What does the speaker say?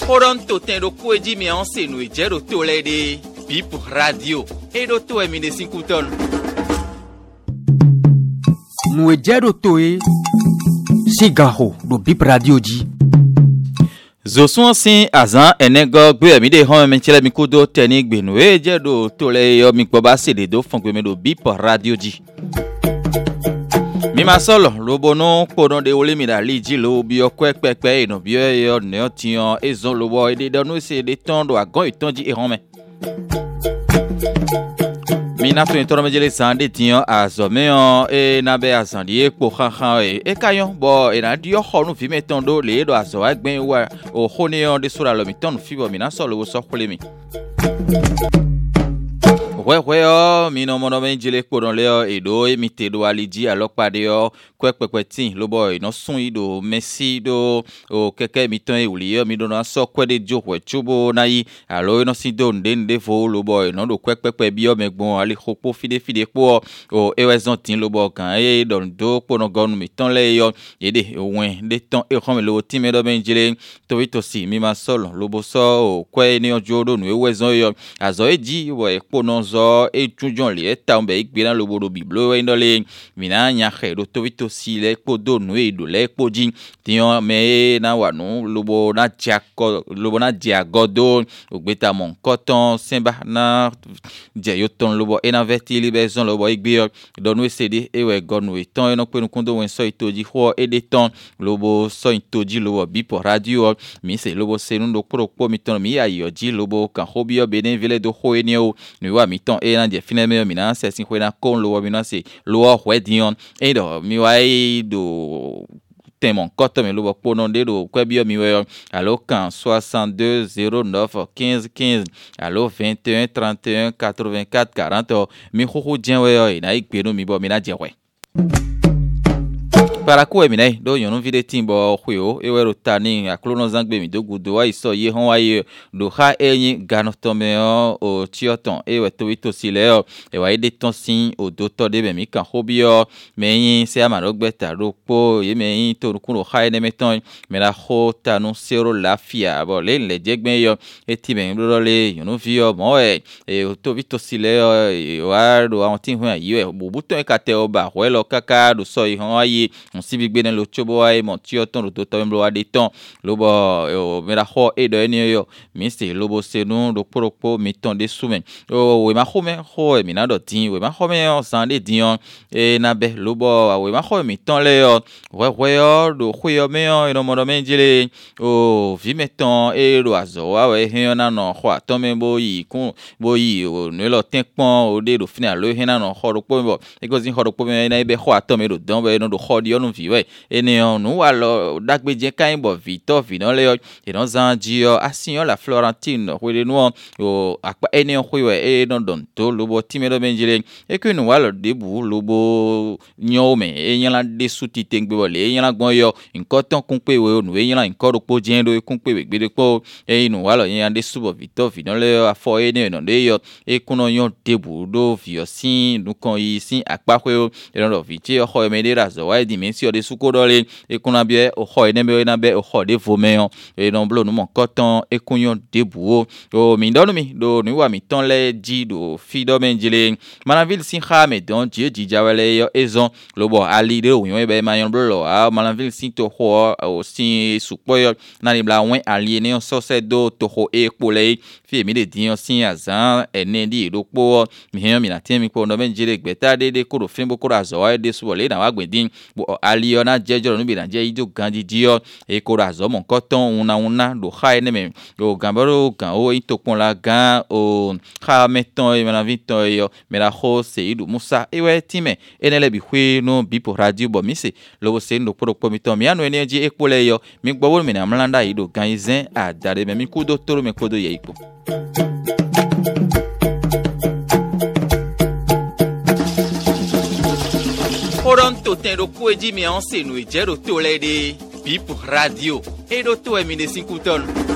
Toronto tem do coedi mi anse no ijero to lede Bip Radio e do to e mi de 5 ton. No ijero to e sigaho do Bip Radio di. Zo sun sin azan enego gbe mi de hon mi tele mi kudo teni gbe no ijero to le yo mi gbo ba se de do fun gbe mi do Bip Radio di. Mi ma solo lobo no pono de ole mi da liji lo bi okwe pepe no bi yo ne otian ezon lobo e de donu se de ton do agon itonji e hon me. Mi na tun toro mejele sande tian azome on e na be azandi e po khan e kayon bo e na di yo khonu fi meton do le do azo agben wa o khoni on de sura lo mi ton fi bo mi na solo wo so khole mi. Ouais, mi no mono menjele kodon le e do emite do aliji alopade yo kwepepetin lo boy no sun ido messi do o keke mi ton e uli yo mi do na so kwede jo we chubo na yi alo no si do ndende fo lo boy no do kwepepe bi yo megbon ali khopo fide po o ewezontin lo bo kan e don do pono gonu mi ton le yo yede owen de ton e khome lo ti me do menjele to ito si mi ma solo lo bo so o kwe ni ojo do no ewezon yo azo eji we pono e tujon li eta mbe igbiran lobodo biblo e ndole mina nya khedo to vito si le podo no e do le poji tiyan me na wa no lobo na diagodo ogbeta mon koton semba na je yoton lobo e na veti libezon lobo igbiyo donu e cd e we gonu e ton e no pe no kondo wen so itoji ho e de ton lobo so itoji lobo Bip Radio mi se lobo se ndo pro mi ton mi ayo ji lobo kan hobio benen vile do ho enio ni wa mi ton e na je fineme mi na se sin kwena kon lo mi na se lo ho dion e do mi wa e do temon koto mi lo po non de do kwebio mi we allo kan 62 09 15 15 allo 21 31 84 40 mi ho dien we na igbe no mi bo mi na je we para ko emi nai do yon vide timbo khweo e wero tani aklono zangbe mi do gudo wa iso ye hon wa ye do ha enyi ganotome o tioton e we to ito sile e wa ide ton sin o do to de be mi kan hobio meyin se amaro gbeta ro po ye meyin to kun ro ha ene meton me la ho tanu sero lafia bo le jegben yo e ti ben lo le yon vio mo e to vito sile e wa do awon tin hu ayi e bubuton e kate oba we lo kaka do so yi hon wa ye si bigbe den lo chobo ai mon tioton ro to mblo wa de ton lobo o me la ho e do eni yo mi se lobo se nu do poropo mi ton de soumen o we ma home ho mi na do tin we ma home on san de dion e na be lobo we ma ho mi ton le yo we yo do khyo me yo no mo do menjele o vi meton e lo azo wa we hen na no ho aton me bo yi kun bo yi o ne lo tin pon o de do final lo hen na no ho ro po bo e go zin ho ro po me na be ho aton me do don be no do ho di no viwe ene on nu alo dagbeje kan bo vito vino le e don zanji asion la Florentine we nu o apa ene on we e don don to lobo timedo benjele e que nu alo debu lobo nyome e yan la de suti tengbe wole e yan la gbon yo nkan ton kun pe we nu e yan la nkan ro po jendo e kun pe we gbede po e nu alo yan de subo vito vino le afo ene no de yo e kuno yon debu do vio sin nu kon yi sin apa we e don viti o ho me de razo wa di si de sukodole e kuna bie o ho ene be na be o ho de vomeon e non blo no mon coton e kunyon debu o mi ndonu mi do ni wa mi ton le ji do fido menjele Malanville sin khame don ji jawale yo ezon lobo ali de o yon be mayon blo a Malanville sin to ho o sin supoyo na ni bla wen ali ne on so se do to ho e pole fi mi de dion sin azan ene di do po mi hen mi na tem mi po no menjele gbeta de ko do fin bo ko azo wa de suwole na wa gbedin aliona jejo no bi na je ido gandi dio e ko razo mon koton una do ha ene me o gambaro kan o itopon la gan o ha meton e na vito yo me la ho se idu musa e we time enele bi hwe no Bip Radio bo mi se lo se ndo pro mi ton mi anu ene je e pole yo mi gbowo mi na mlanda ido gan izen a dare me mi ku do toro me kodo ye ipo Toronto tem do coedi mi anse no ijero to le de Bip Radio e do to e mi de 5 ton.